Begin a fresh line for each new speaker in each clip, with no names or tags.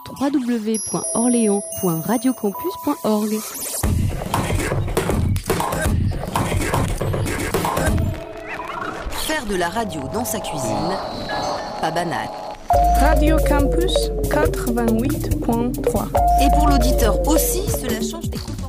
www.orléans.radiocampus.org.
Faire de la radio dans sa cuisine, pas banal.
Radio Campus 88.3.
Et pour l'auditeur aussi, cela change des comportements.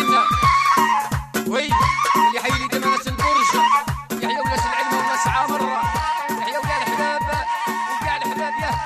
البركة. وي اللي حي لي ديما ناس البرج، يحيى وناس العلم وناس عامر، يحيى ويا الحباب وكاع الحباب ياه.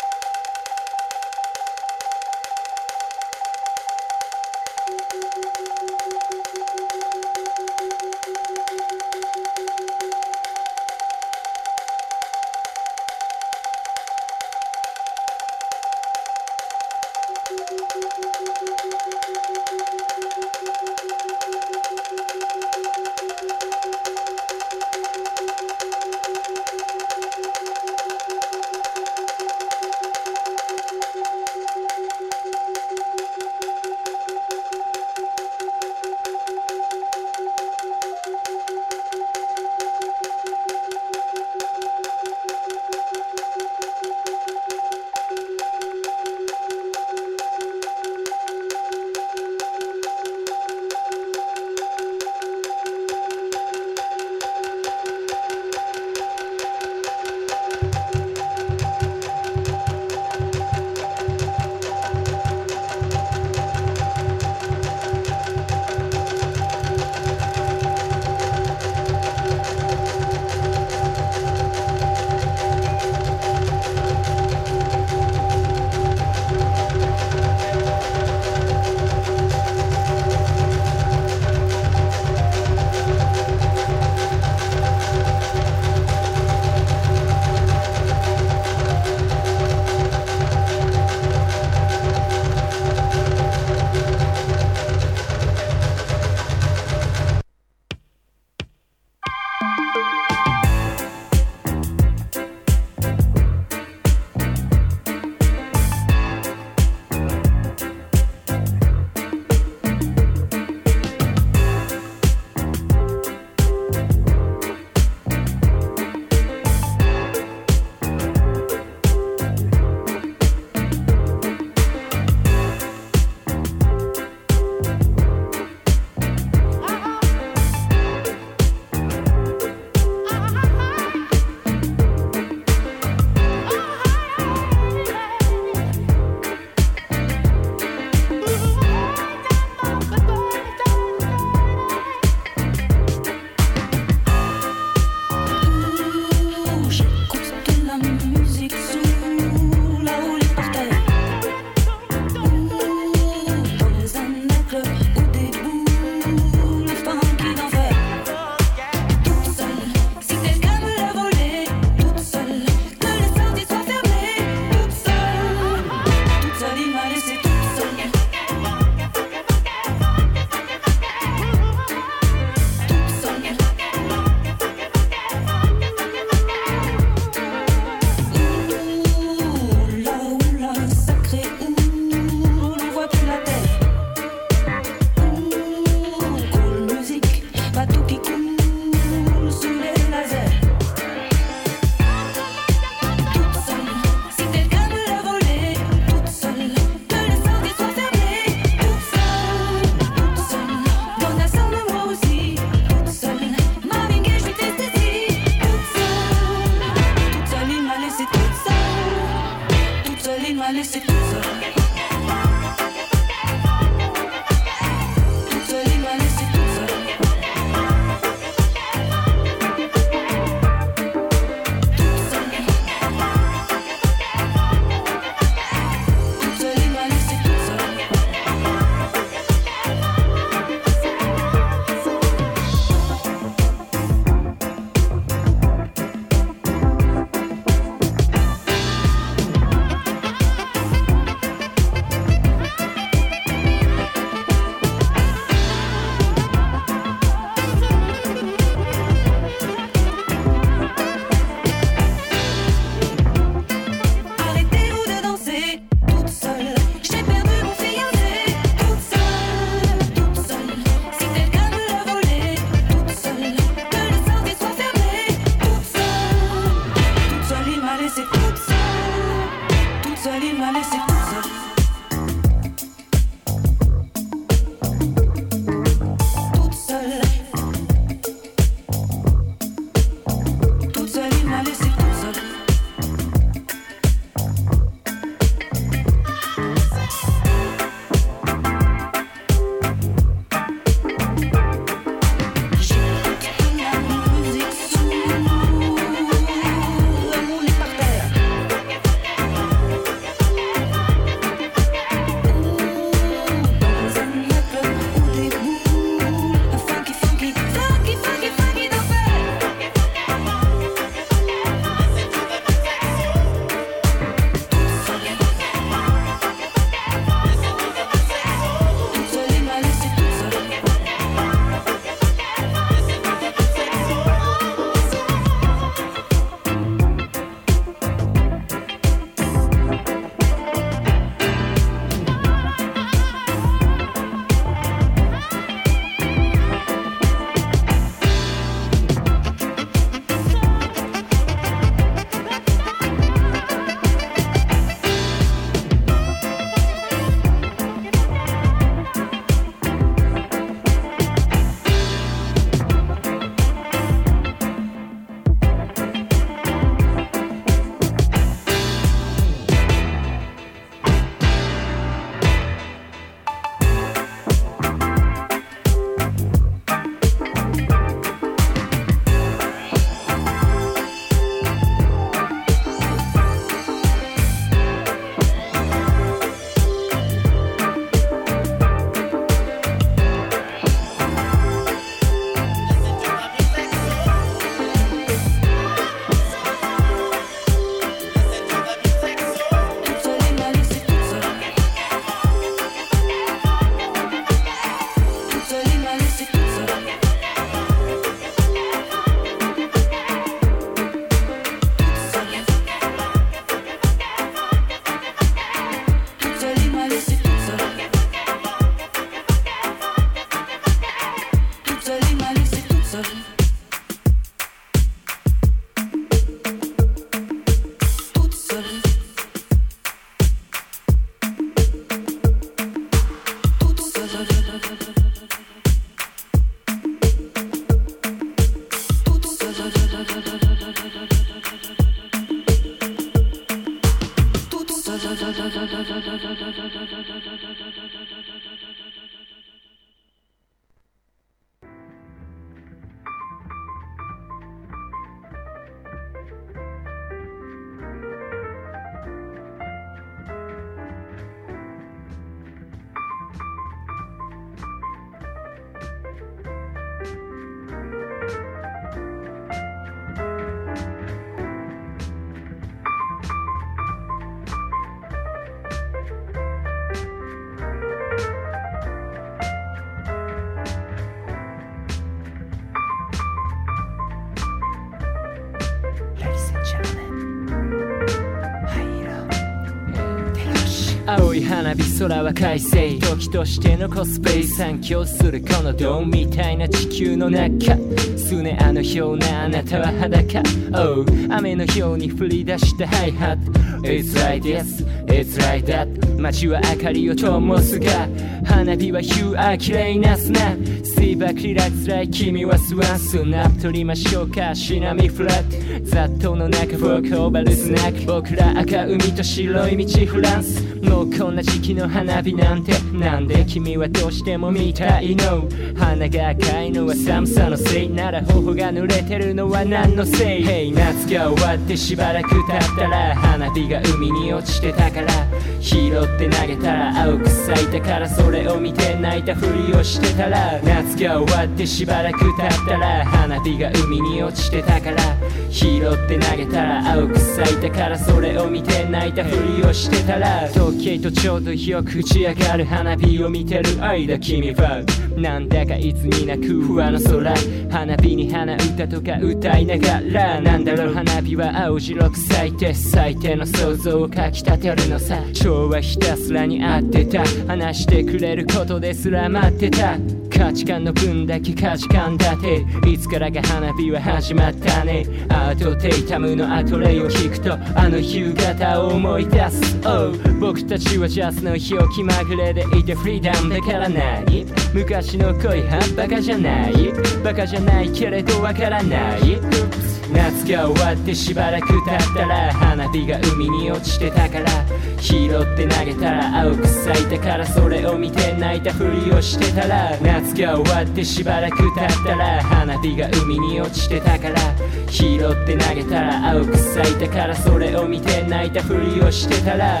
青い花火空は快晴時としてのコスペイ散響するこのドームみたいな地球の中すねあのようなあなたは裸 Oh 雨のように降り出したハイハット It's like this, it's like that 街は明かりを灯すが花火は You are 綺麗な砂 Stay back relax like 君はスワンスナップ取りましょうかシナミフラット雑踏の中フォークオーバルスナック僕ら赤海と白い道フランスもうこんな時期の花火なんてなんで君はどうしても見たいの花が赤いのは寒さのせいなら頬が濡れてるのは何のせい Hey 夏が終わってしばらく経ったら花火が海に落ちてたから拾って投げたら青く咲いたからそれを見て泣いたふりをしてたら夏が終わってしばらく経ったら花火が海に落ちてたから拾って投げたら青く咲いたからそれを見て泣いたふりをしてたら時計とちょうどよく打ち上がる花火を見てる間君はなんだかいつになく不安の空花火に花歌とか歌いながらなんだろう花火は青白く咲いて最低の想像をかきたてるのさ蝶はひたすらに合ってた話してくれることですら待ってた価値観の分だけ価値観だっていつからか花火は始まったねアートテイタムのアトレイを聞くとあの夕方を思い出す、oh、僕たちはジャズの日を気まぐれでいてフリーダムだから何昔の恋はバカじゃないバカじゃないけれどわからない夏が終わってしばらく経ったら花火が海に落ちてたから拾って投げたら青く咲いたからそれを見て泣いたふりをしてたら夏が終わってしばらく経ったら花火が海に落ちてたから拾って投げたら青く咲いたからそれを見て泣いたふりをしてたら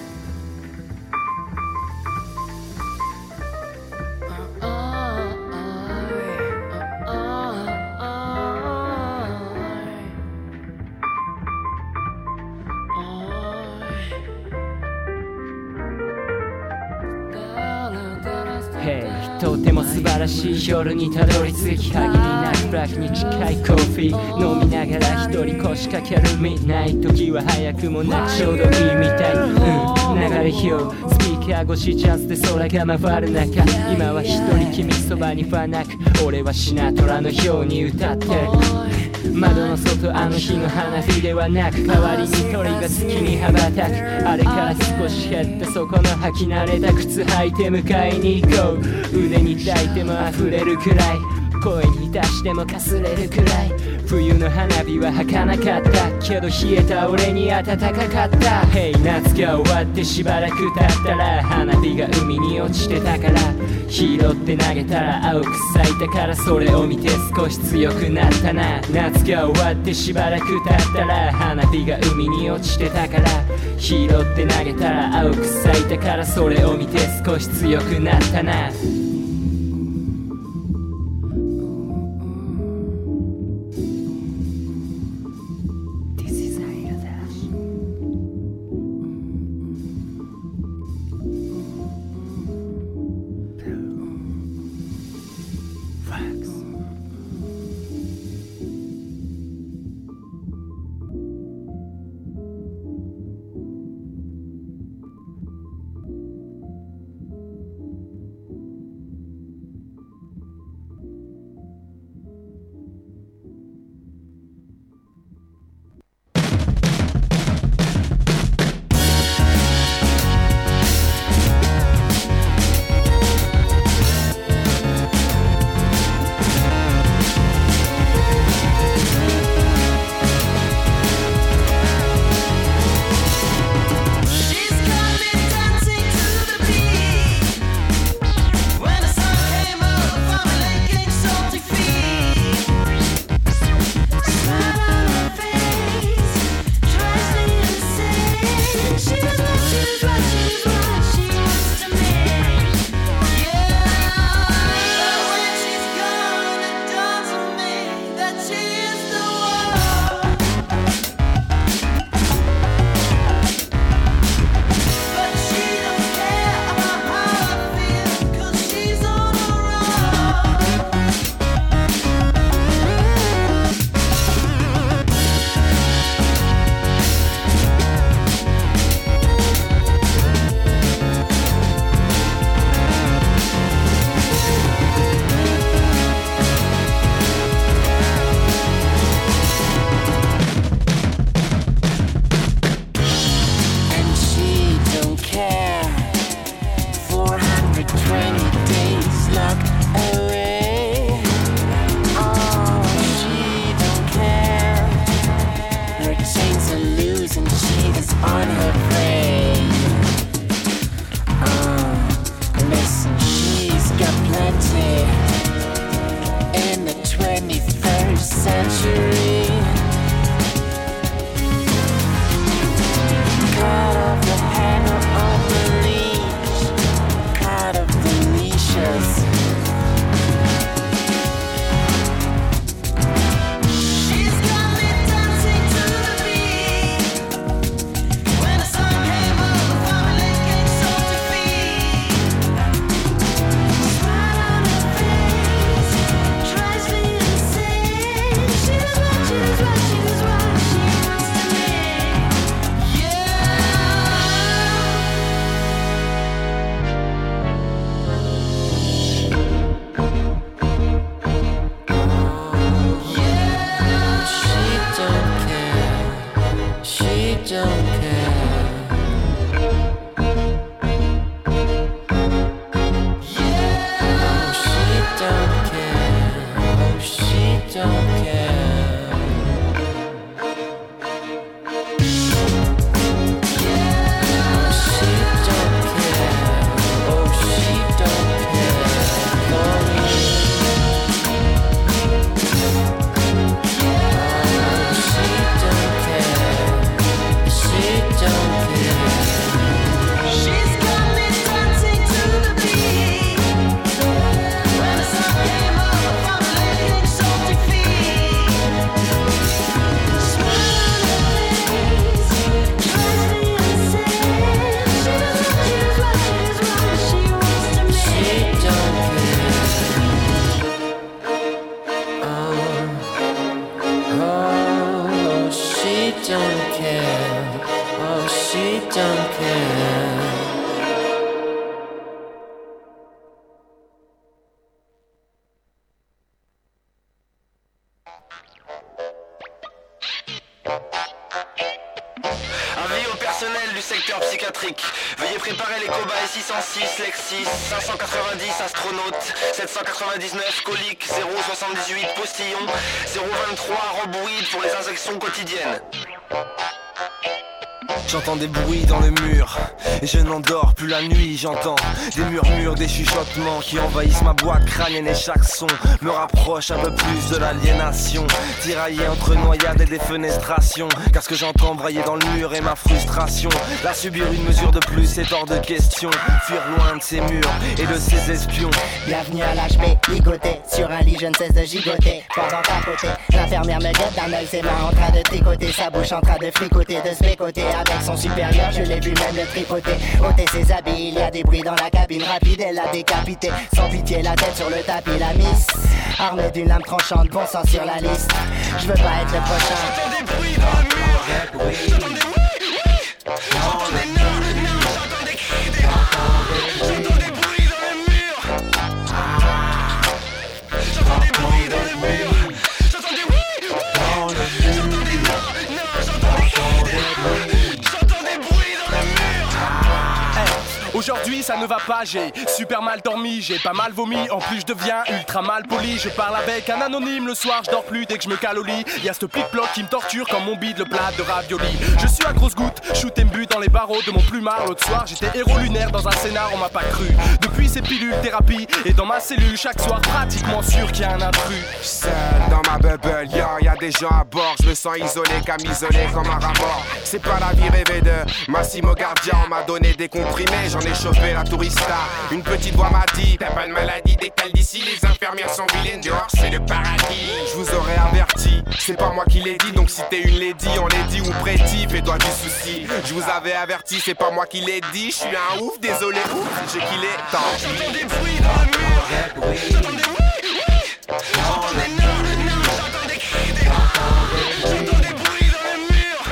とても素晴らしい夜にたどり着き限りなくブラックに近いコーヒー飲みながら一人腰掛けるミッドナイト時は早くもなくちょうどいいみたい、流れよスピーカー越しジャズで空が回る中今は一人君そばにはなく俺はシナトラのように歌ってる窓の外あの日の花火ではなく代わりに鳥が月に羽ばたくあれから少し減ったそこの履き慣れた靴履いて迎えに行こう腕に抱いても溢れるくらい声に出してもかすれるくらい冬の花火は儚かったけど冷えた俺に暖かかった Hey 夏が終わってしばらく経ったら花火が海に落ちてたから拾って投げたら青く咲いたからそれを見て少し強くなったな夏が終わってしばらく経ったら花火が海に落ちてたから拾って投げたら青く咲いたからそれを見て少し強くなったな
20 days locked away. Oh, she don't care. Her chains are loose and she is on her prey. Listen, she's got plenty in the 21st century. Caught off the handle of the leash, caught of the leashes.
Veuillez préparer les cobayes 606, Lexis, 590, astronautes, 799, colique, 078, postillon, 023, roboïde pour les injections quotidiennes.
J'entends des bruits dans le mur et je n'endors plus la nuit. J'entends des murmures, des chuchotements qui envahissent ma boîte crânienne et chaque son me rapproche un peu plus de l'aliénation. Tiraillé entre noyades et défenestrations, car ce que j'entends brailler dans le mur est ma frustration. Là subir une mesure de plus est hors de question. Fuir loin de ces murs et de ces espions.
Bienvenue à l'HP, ligoté sur un lit, je ne cesse de gigoter. Pendant qu'à côté, l'infirmière me guette d'un œil, ses mains en train de tricoter, sa bouche en train de fricoter, de se bécoter. Avec son supérieur, je l'ai vu même le tripoter. Ôter ses habits, il y a des bruits dans la cabine. Rapide, elle l'a décapité, sans pitié, la tête sur le tapis. La miss, armée d'une lame tranchante, bon sang sur la liste. Je veux pas être le prochain.
J'entends des bruits dans le mur. J'entends des oui. J'entends des non, j'entends des cris, des j'entends des bruits dans le mur. J'entends des bruits dans le mur. J'entends des oui. J'entends des non, j'entends des cris, j'entends des bruits dans le mur.
Aujourd'hui ça ne va pas, j'ai super mal dormi, j'ai pas mal vomi, en plus je deviens ultra mal poli. Je parle avec un anonyme le soir, je dors plus dès que je me cale au lit. Y'a ce plic-ploc qui me torture comme mon bide le plat de ravioli. Je suis à grosse goutte, shoot et me but dans les barreaux de mon plumard. L'autre soir j'étais héros lunaire dans un scénar, on m'a pas cru. Depuis ces pilules thérapie et dans ma cellule chaque soir pratiquement sûr qu'il y a un intrus.
Seul dans ma bubble, y'a des gens à bord. Je me sens isolé, isolé comme un rat mort. C'est pas la vie rêvée de Massimo Gardia. On m'a donné des comprimés, j'en ai chauffé la tourista. Une petite voix m'a dit, t'as pas de maladie, décale d'ici. Les infirmières sont vilaines, dehors c'est le paradis. Je vous aurais averti, c'est pas moi qui l'ai dit. Donc si t'es une lady, on l'est dit ou prédit, fais-toi du souci. Je vous avais averti, c'est pas moi qui l'ai dit. Je suis un ouf, désolé, ouf, j'ai qu'il est temps.
J'entends des bruits dans le mur. J'entends des oui. J'entends des non, j'entends des cris, des j'entends des bruits dans le mur.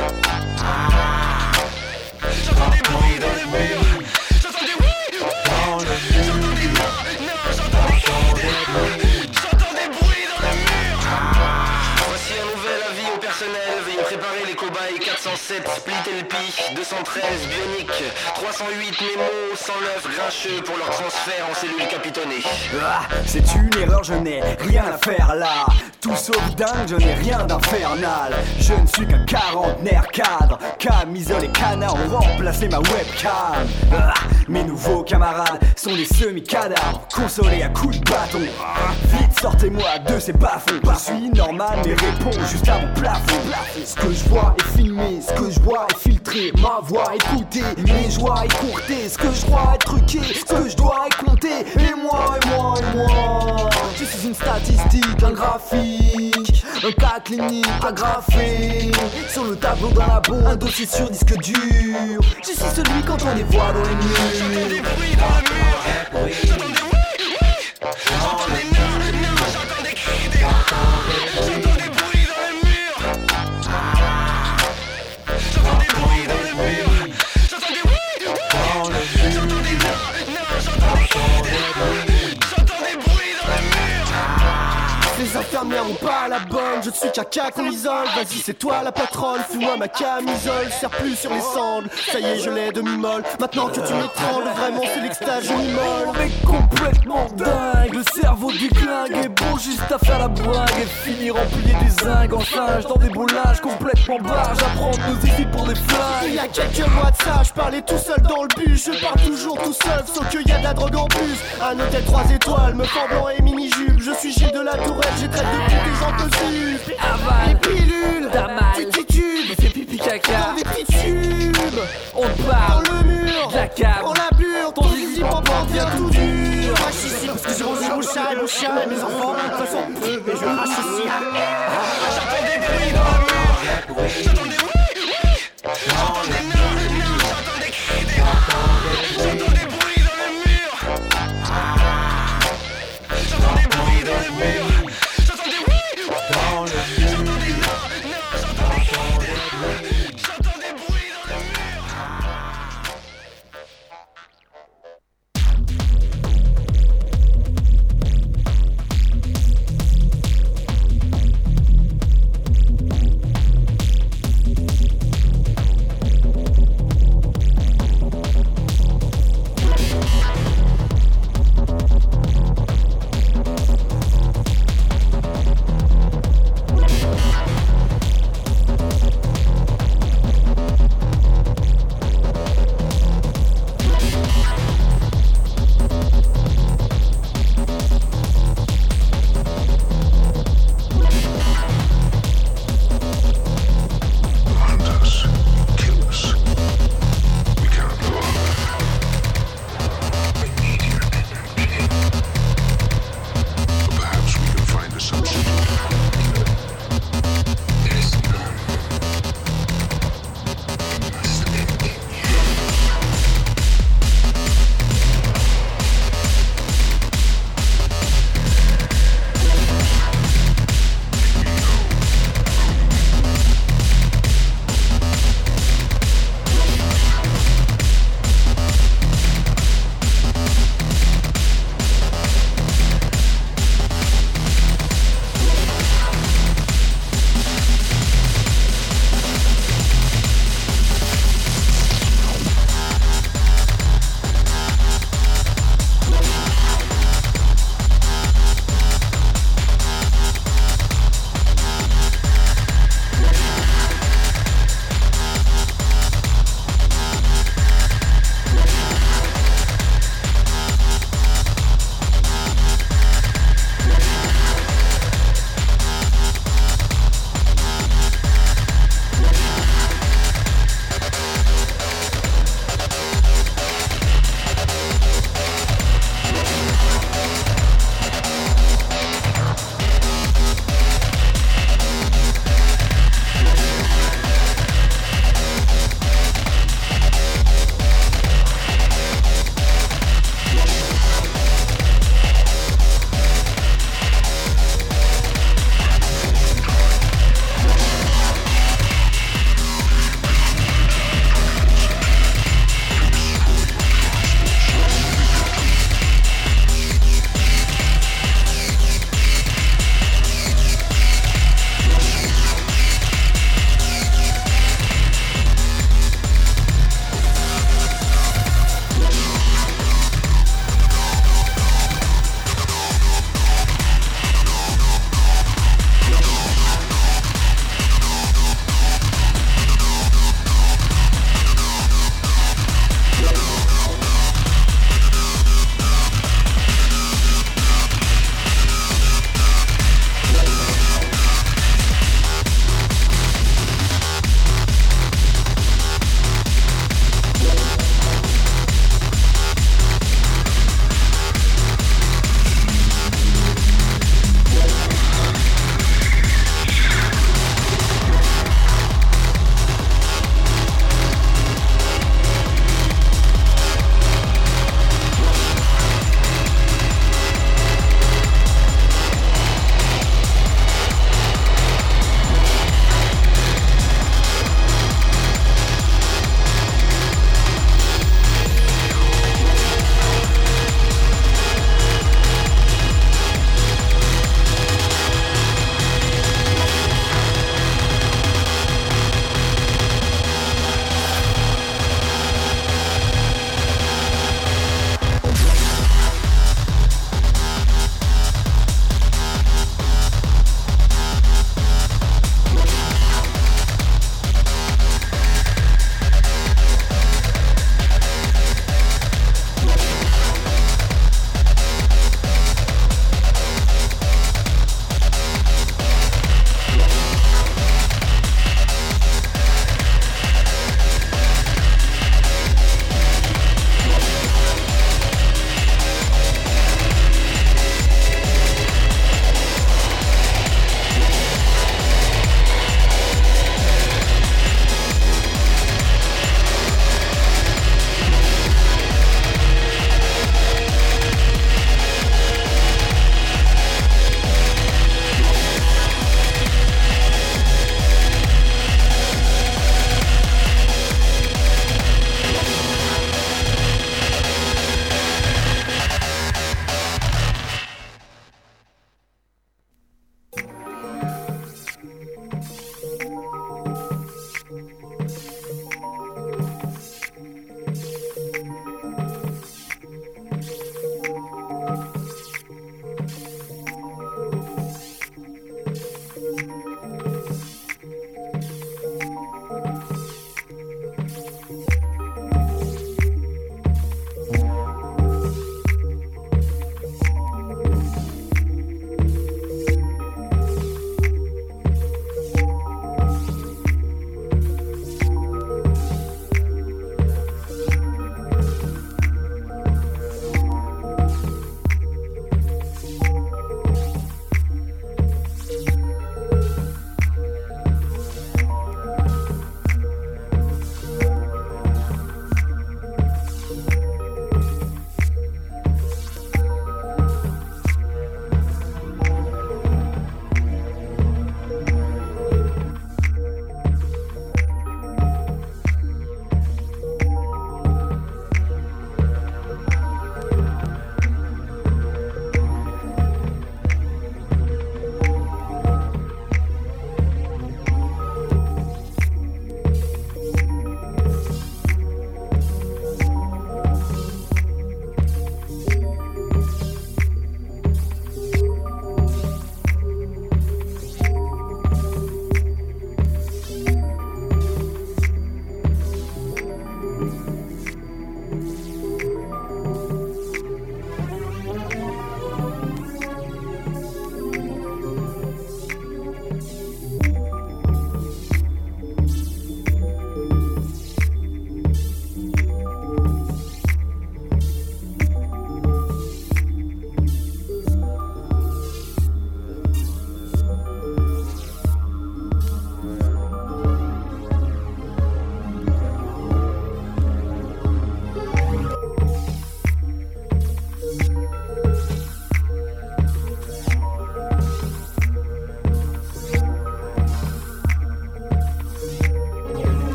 J'entends des bruits dans le mur. J'entends des oui. J'entends des non, j'entends des cris, j'entends des bruits dans le mur. Voici un nouvel avis au personnel. Veuillez préparer les cobayes 406, 207, Split LP, 213, Bionic, 308, Nemo, 109, Grincheux pour leur transfert en cellule capitonnée.
Ah, c'est une erreur, je n'ai rien à faire là. Tout sauf dingue, je n'ai rien d'infernal. Je ne suis qu'un quarantenaire cadre. Camisole et canard ont remplacé ma webcam. Ah, mes nouveaux camarades sont des semi-cadavres, consolés à coups de bâton. Ah, vite, sortez-moi de ces bas-fonds. Je suis normal mais réponds juste à mon plafond. Ce que je vois est filmé, ce que je vois est filtré. Ma voix écoutée, mes joies écourtées. Ce que je crois est truqué, ce que je dois est compté. Et moi, et moi, et moi, je suis une statistique, un graphique, un cas clinique agrafé sur le tableau d'un labo, un dossier sur disque dur. Je suis celui quand on les voit dans les murs.
J'entends des bruits dans le mur. J'entends des oui. J'entends des non, j'entends des cris, des j'entends des bruits dans le mur. J'entends des bruits dans le mur. J'entends des oui. J'entends des non, j'entends des cris, des j'entends des bruits dans le mur.
Les infirmières ont pas la bonne, je ne suis qu'un cas qu'on isole. Vas-y c'est toi la patronne, fous-moi ma camisole. Serre plus sur les sangles, ça y est je l'ai demi-molle. Maintenant que tu m'étrangles, vraiment c'est l'extase, je m'immole.
On est complètement dingue, le cerveau déglingue est bon juste à faire la blague. Et finir empilé des zingues en singe dans des beaux linges complètement barges. Apprendre nos idées pour des flingues.
Il y a quelques mois de ça, je parlais tout seul dans le bus. Je parle toujours tout seul, sauf qu'il y a de la drogue en plus. Un hôtel 3 étoiles, me fend blanc et mini-jupe. Je suis Gilles de la Tourette, j'ai traite de pute et j'en peux suivre.
Aval,
les pilules,
t'as mal,
tu titubes,
c'est pipi caca.
dans des petits tubes.
On te parle,
dans le mur,
de la cave,
on la bure, ton zizi pampan devient tout dur. Crache ici parce que j'ai rangé mon chat et mes enfants. De toute façon, mais je crache ici.
J'entends des bruits dans le mur. J'entends des oui. J'entends des non, j'entends des cris, des j'entends des bruits dans le mur. J'entends des bruits dans le mur. J'entends des oui. J'entends des non, j'entends des cris, des j'entends des bruits dans le mur.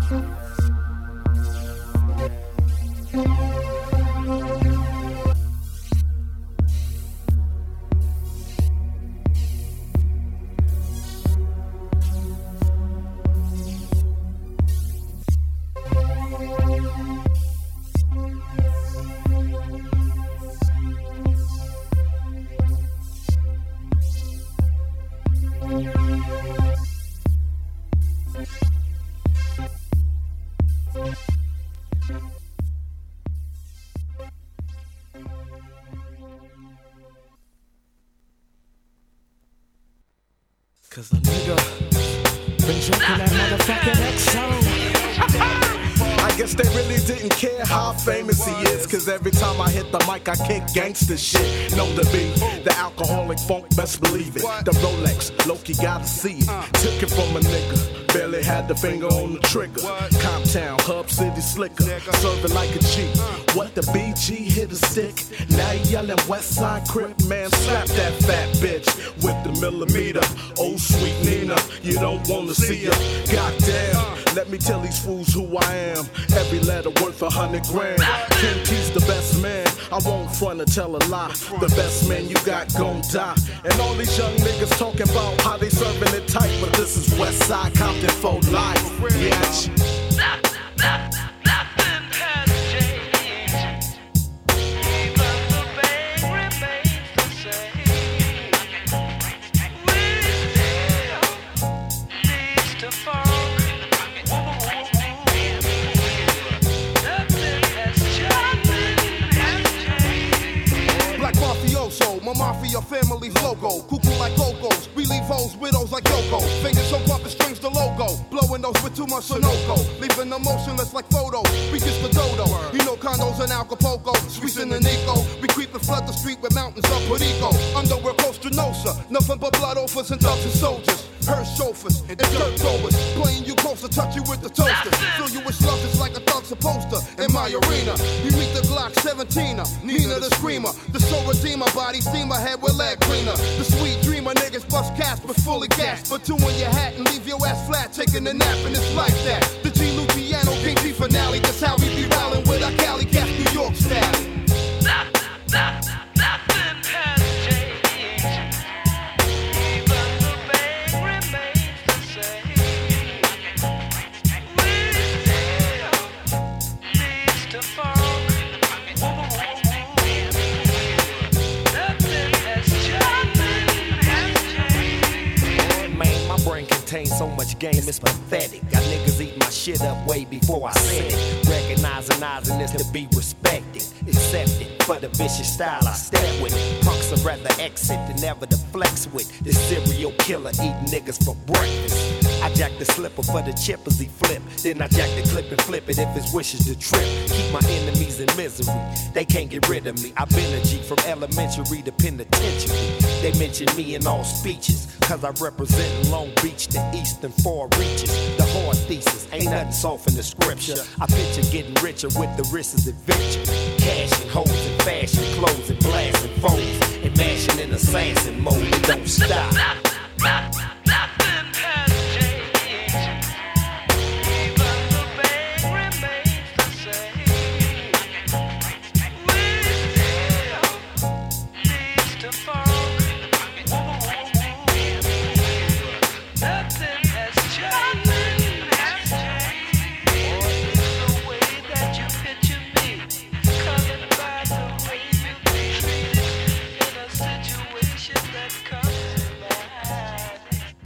Cause a nigga been drinking that motherfucking XO. I guess they really didn't care how famous he is. Cause every time I hit the mic I kick gangsta shit. Know the beat, the alcoholic funk, best believe it. The Rolex, Loki gotta see it. Took it from a nigga, barely had the finger on the trigger. Comptown, Hub City slicker, serving like a G. What the BG hit a stick. Now you yelling Westside Crip, man, slap that fat bitch with the millimeter. Oh sweet Nina, you don't wanna see her. Goddamn, let me tell these fools who I am. Every letter worth 100 grand. King T's the best man. I won't front or tell a lie. The best man you got gon' die. And all these young niggas talking about how they serving it tight, but this is Westside Compton for life. Bitch.
My mafia family's logo, cuckoo like go-go's. We leave hoes, widows like Yoko. Fingers so pumping strings the logo. Blowing those with too much Sunoco. Leaving them motionless like photos. We just the dodo. You know condos in Acapulco. Streets in the Nico. We creep and flood the street with mountains of Perico. Underwear Costa Nostra. Nothing but blood offers and thugs and soldiers. Hearse chauffeurs and dirt throwers. Playing you closer, touch you with the toaster. Fill you with slugs just like a thug supposed to. In my arena, you meet the Glock 17er. Nina the Screamer. The Soul Redeemer. Body steamer, head with leg cleaner. The sweet dreamer, niggas bust cash but fully gas. Put two in your hat and leave your ass flat, taking a nap, and it's like that. The G Luciano King G finale, that's how we be rallying with our Cali Cats, New York style. Nothing has changed. Even the pain remains the same. We still needs to fall.
Contain so much game, it's pathetic. Got niggas eating my shit up way before I said it. Recognizing this to be respected, accepted for the vicious style I step with. Punks would rather exit than ever to flex with. This serial killer eating niggas for breakfast. I jack the slipper for the chippers he flip. Then I jack the clip and flip it if his wishes to trip. Keep my enemies in misery, they can't get rid of me. I've been a G from elementary to penitentiary. They mention me in all speeches, cause I represent Long Beach, the eastern far reaches. The hard thesis, ain't nothing soft in the scripture. I picture getting richer with the risk of adventure. Cash and hoes and fashion, clothes and blasting phones. And mashing in assassin mode, it don't stop. Nothing has changed. Even the pain remains the same. We still needs to fall. Nothing has changed. The way that you picture me, colored by the way you be treated in a situation that comes to mind.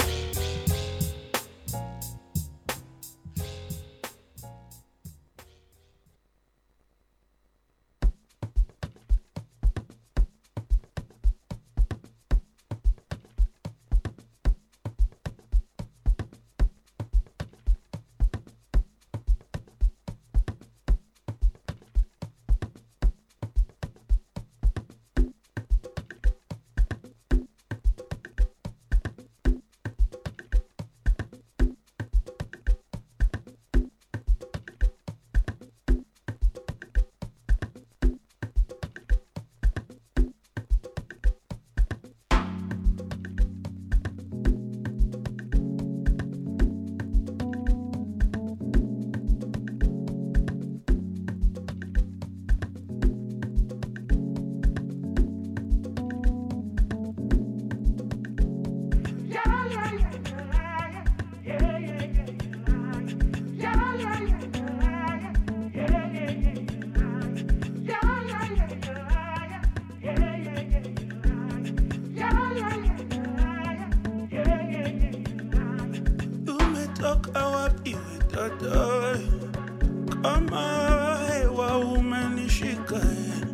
kama hewa umenishika,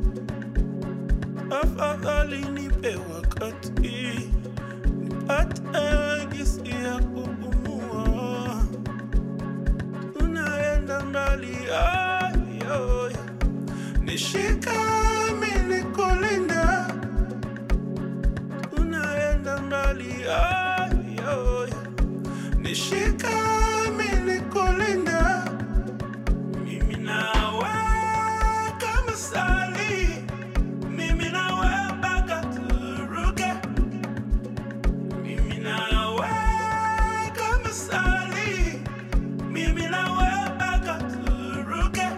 afadhali nipe wakati nipate gisi ya kupumua. Tunaenda mbali, nishika mimi nikulinda. Tunaenda mbali, nishika mimi nikulinda. Mimi nawe kama sali, mimi nawe mpaka turuke. Mimi nawe kama sali, mimi nawe mpaka turuke.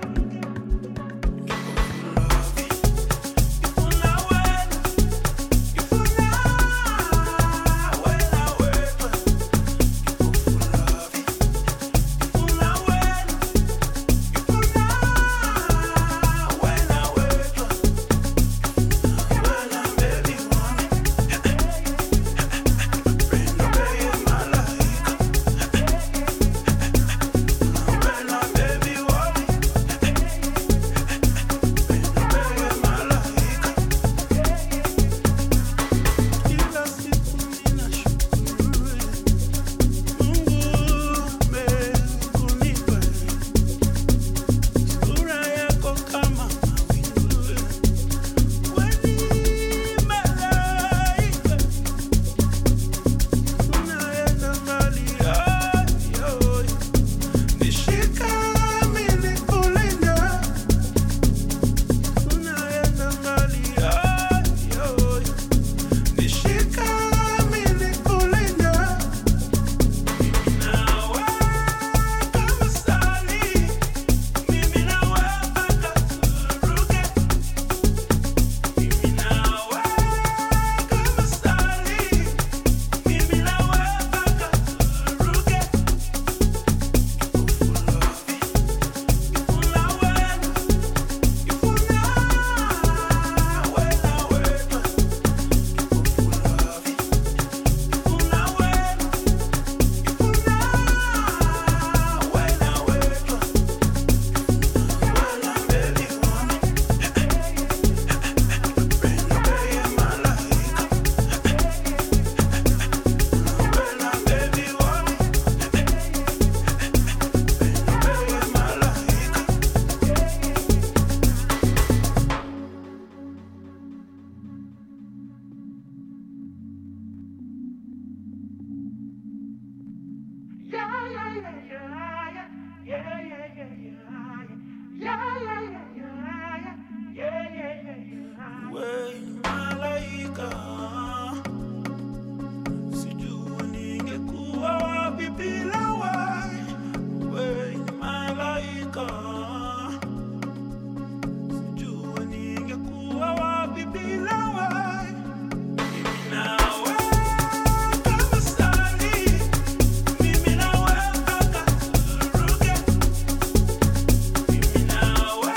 Mimi nawe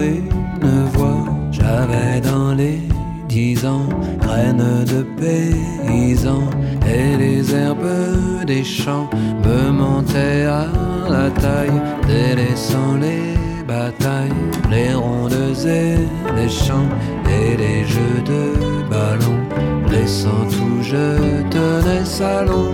une voix. J'avais dans les 10 ans, graines de paysans, et les herbes des champs me montaient à la taille, délaissant les batailles, les rondes et les chants, et les jeux de ballon, laissant tout je tenais salon.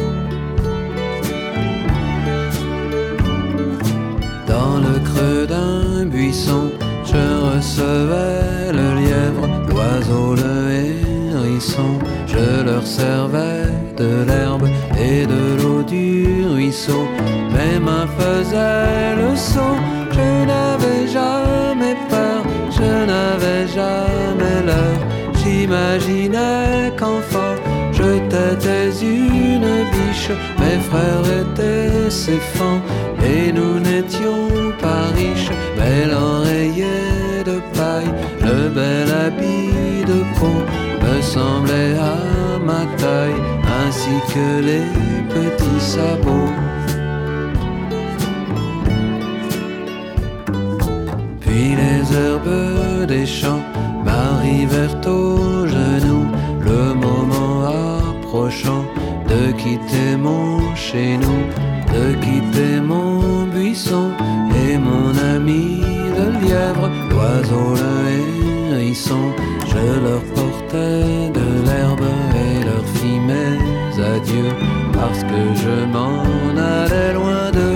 Dans le creux d'un buisson, je recevais le lièvre, l'oiseau, le hérisson. Je leur servais de l'herbe et de l'eau du ruisseau. Mes mains faisaient le saut. Je n'avais jamais peur, je n'avais jamais l'heure. J'imaginais qu'enfant je t'étais une biche. Mes frères étaient ses fans et nous n'étions pas riches. Mais l'oreiller de paille, le bel habit de peau me semblait à ma taille, ainsi que les petits sabots. Puis les herbes des champs m'arrivèrent aux genoux, le moment approchant de quitter mon chez nous, de quitter mon buisson et mon ami de lièvre, l'oiseau, le hérisson. Je leur portais de l'herbe et leur fis mes adieux, parce que je m'en allais loin d'eux.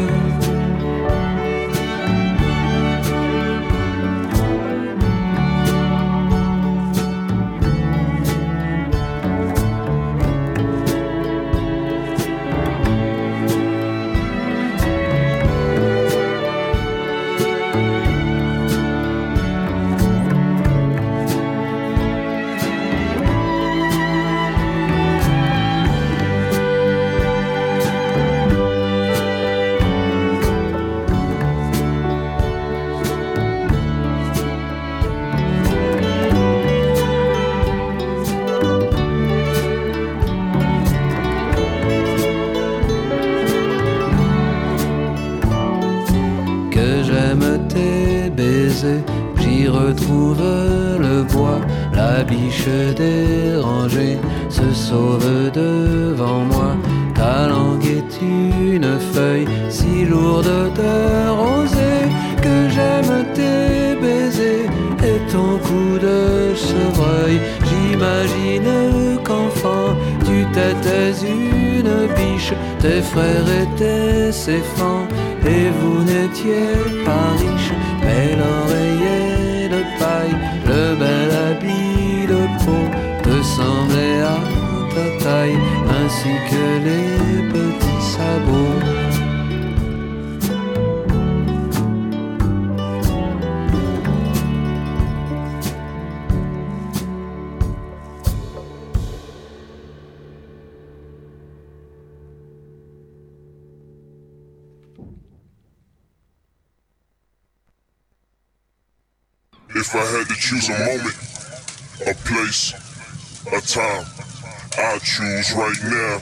J'y retrouve le bois, la biche dérangée se sauve devant moi. Ta langue est une feuille si lourde de rosée, que j'aime tes baisers et ton cou de chevreuil. J'imagine qu'enfant tu t'étais une biche, tes frères étaient ses fans et vous n'étiez pas riches. Mais l'oreiller de paille, le bel habit de peau te semblait à ta taille, ainsi que les petits sabots.
If I had to choose a moment, a place, a time, I'd choose right now.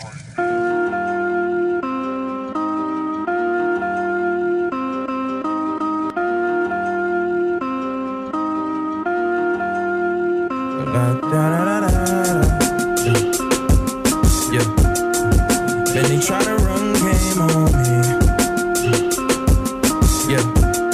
Yeah. Then they try to run game on me. Yeah.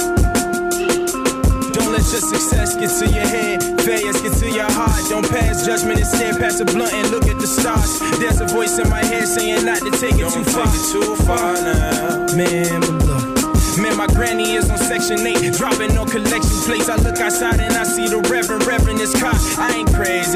Don't let your success get to your head, failures get to your heart. Don't pass judgment, instead pass a blunt and look at the stars. There's a voice in my head saying not to take it too far. Too far now, man. But look, man, my granny is on Section 8, dropping no collection plates. I look outside and I see the Reverend is caught. I ain't crazy.